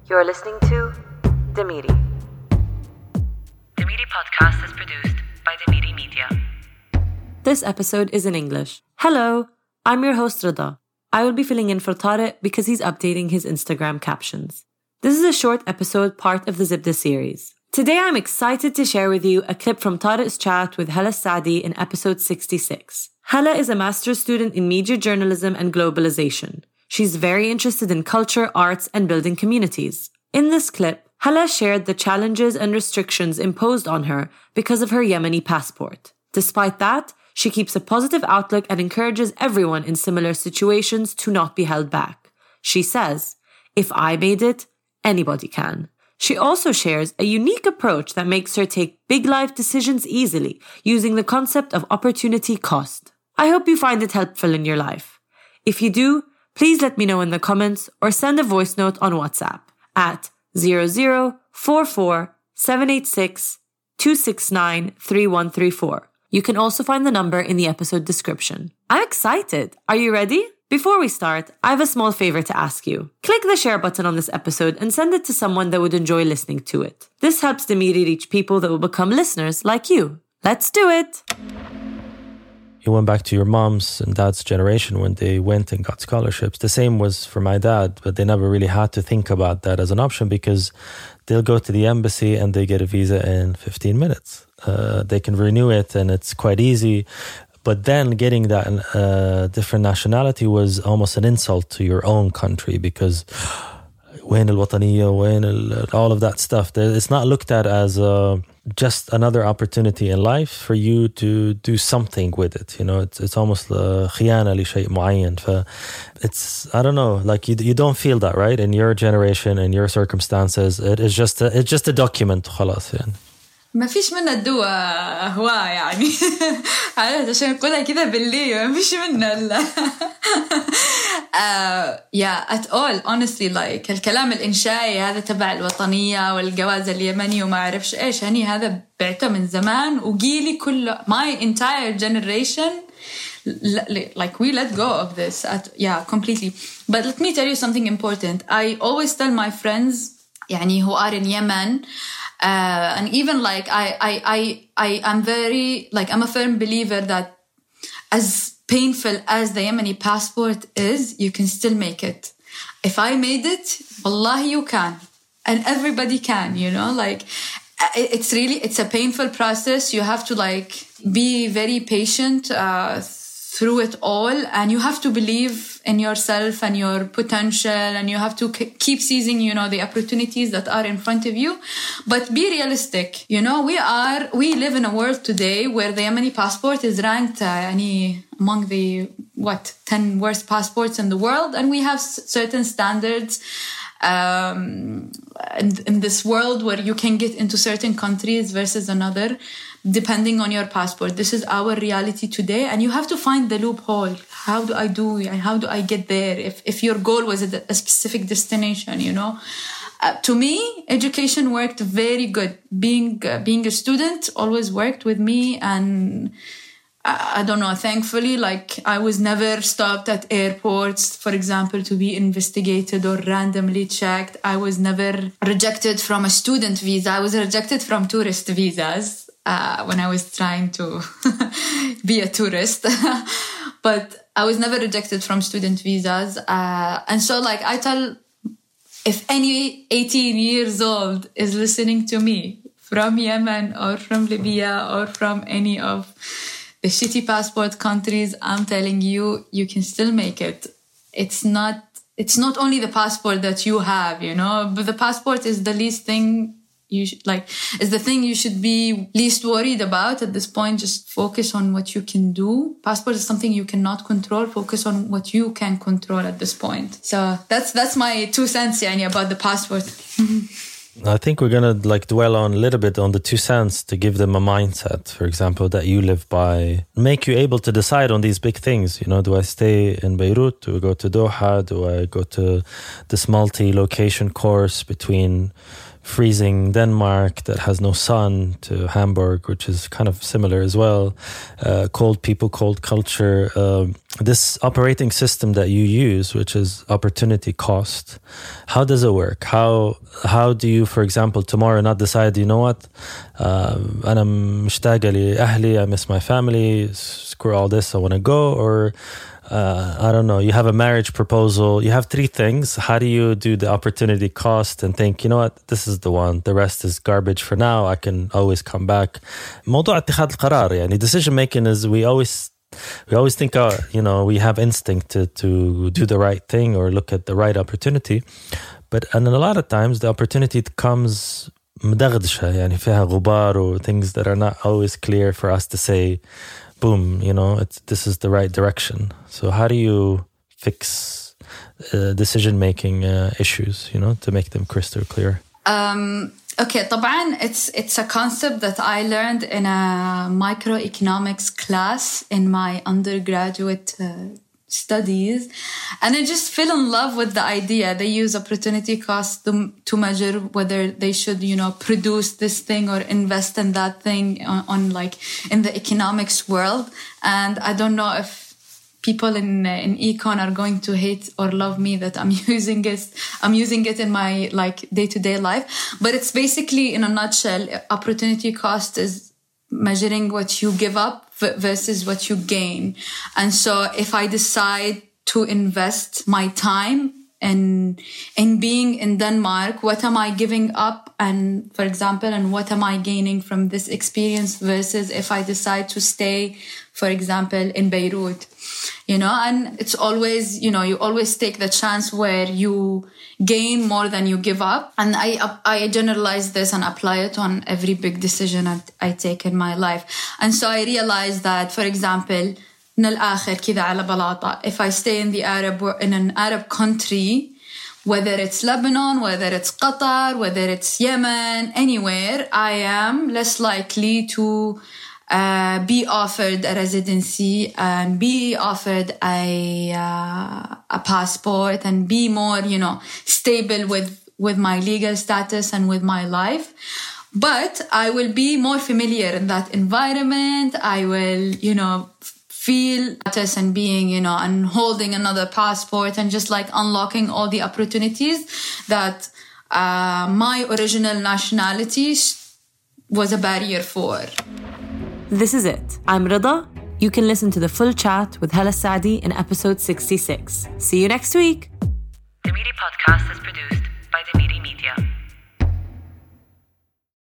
You're listening to Demiri. Demiri podcast is produced by Demiri Media. This episode is in English. Hello, I'm your host Rida. I will be filling in for Tariq because he's updating his Instagram captions. This is a short episode, part of the Zibda series. Today I'm excited to share with you a clip from Tariq's chat with Hala Saadi in episode 66. Hala is a master's student in media journalism and globalization. She's very interested in culture, arts, and building communities. In this clip, Hala shared the challenges and restrictions imposed on her because of her Yemeni passport. Despite that, she keeps a positive outlook and encourages everyone in similar situations to not be held back. She says, "If I made it, anybody can." She also shares a unique approach that makes her take big life decisions easily, using the concept of opportunity cost. I hope you find it helpful in your life. If you do, please let me know in the comments or send a voice note on WhatsApp at 0044 786 269 3134. You can also find the number in the episode description. I'm excited. Are you ready? Before we start, I have a small favor to ask you. Click the share button on this episode and send it to someone that would enjoy listening to it. This helps Demiri reach people that will become listeners like you. Let's do it! You went back to your mom's and dad's generation when they went and got scholarships. The same was for my dad, but they never really had to think about that as an option because they'll go to the embassy and they get a visa in 15 minutes. They can renew it and it's quite easy. But then getting that different nationality was almost an insult to your own country because وين الوطنية, all of that stuff. It's not looked at as just another opportunity in life for you to do something with it. You know, it's almost خيانة لشيء معين. It's, I don't know, like you don't feel that, right? In your generation, in your circumstances, it's just a document خلاص يعني. ما فيش منها الدواء هواء يعني عشان نقولها كذا باللي ما فيش منها yeah at all honestly like الكلام الإنشائي هذا تبع الوطنية والجواز اليمني وما أعرفش إيش يعني هذا بعته من زمان وجيلي كله my entire generation like we let go of this completely. But let me tell you something important. I always tell my friends يعني who are in Yemen and even like I'm very like I'm a firm believer that as painful as the Yemeni passport is, you can still make it. If I made it, wallahi you can, and everybody can. You know, like it's a painful process. You have to like be very patient through it all, and you have to believe in yourself and your potential, and you have to keep seizing, you know, the opportunities that are in front of you. But be realistic. You know, we live in a world today where the Yemeni passport is ranked among the 10 worst passports in the world, and we have certain standards in this world where you can get into certain countries versus another depending on your passport. This is our reality today, and you have to find the loophole. How do I get there if your goal was a specific destination, you know? To me, education worked very good. Being a student always worked with me, and I don't know, thankfully, like I was never stopped at airports, for example, to be investigated or randomly checked. I was never rejected from a student visa. I was rejected from tourist visas when I was trying to be a tourist. But I was never rejected from student visas. And so like I tell, if any 18 years old is listening to me from Yemen or from Libya or from any of the shitty passport countries, I'm telling you, you can still make it. It's not only the passport that you have, you know, but the passport is the least thing you should is the thing you should be least worried about at this point. Just focus on what you can do. Passport is something you cannot control. Focus on what you can control at this point. So that's my 2 cents, Yani, about the passport. I think we're going to dwell on a little bit on the 2 cents to give them a mindset, for example, that you live by, make you able to decide on these big things. You know, do I stay in Beirut? Do I go to Doha? Do I go to this multi-location course between freezing Denmark that has no sun to Hamburg, which is kind of similar as well. Cold people, cold culture. This operating system that you use, which is opportunity cost, how does it work? How do you, for example, tomorrow not decide, you know what, أنا مشتاقة لأهلي, I miss my family, screw all this, I want to go, or I don't know, you have a marriage proposal, you have 3 things. How do you do the opportunity cost and think, you know what, this is the one, the rest is garbage for now, I can always come back. موضوع اتخاذ القرار, يعني decision making is, we always think, you know, we have instinct to do the right thing or look at the right opportunity. And a lot of times the opportunity comes مدغدشة, يعني فيها غبار, or things that are not always clear for us to say, boom, you know, this is the right direction. So how do you fix decision-making issues, you know, to make them crystal clear? Okay, طبعاً it's a concept that I learned in a microeconomics class in my undergraduate studies, and I just fell in love with the idea. They use opportunity cost to measure whether they should, you know, produce this thing or invest in that thing on like in the economics world. And I don't know if people in econ are going to hate or love me that I'm using it in my like day-to-day life, but it's basically, in a nutshell, opportunity cost is measuring what you give up versus what you gain. And so if I decide to invest my time in being in Denmark, what am I giving up? And for example, and what am I gaining from this experience versus if I decide to stay, for example, in Beirut, you know, and it's always, you know, you always take the chance where you gain more than you give up. And I generalize this and apply it on every big decision I take in my life. And so I realized that, for example, من الآخر كذا على بلاطة, if I stay in an Arab country, whether it's Lebanon, whether it's Qatar, whether it's Yemen, anywhere, I am less likely to be offered a residency and be offered a passport and be more, you know, stable with my legal status and with my life. But I will be more familiar in that environment. I will, you know, feel status and being, you know, and holding another passport and just like unlocking all the opportunities that my original nationality was a barrier for. This is it. I'm Rida. You can listen to the full chat with Hala Saadi in episode 66. See you next week. The Miri podcast is produced by The Miri Media.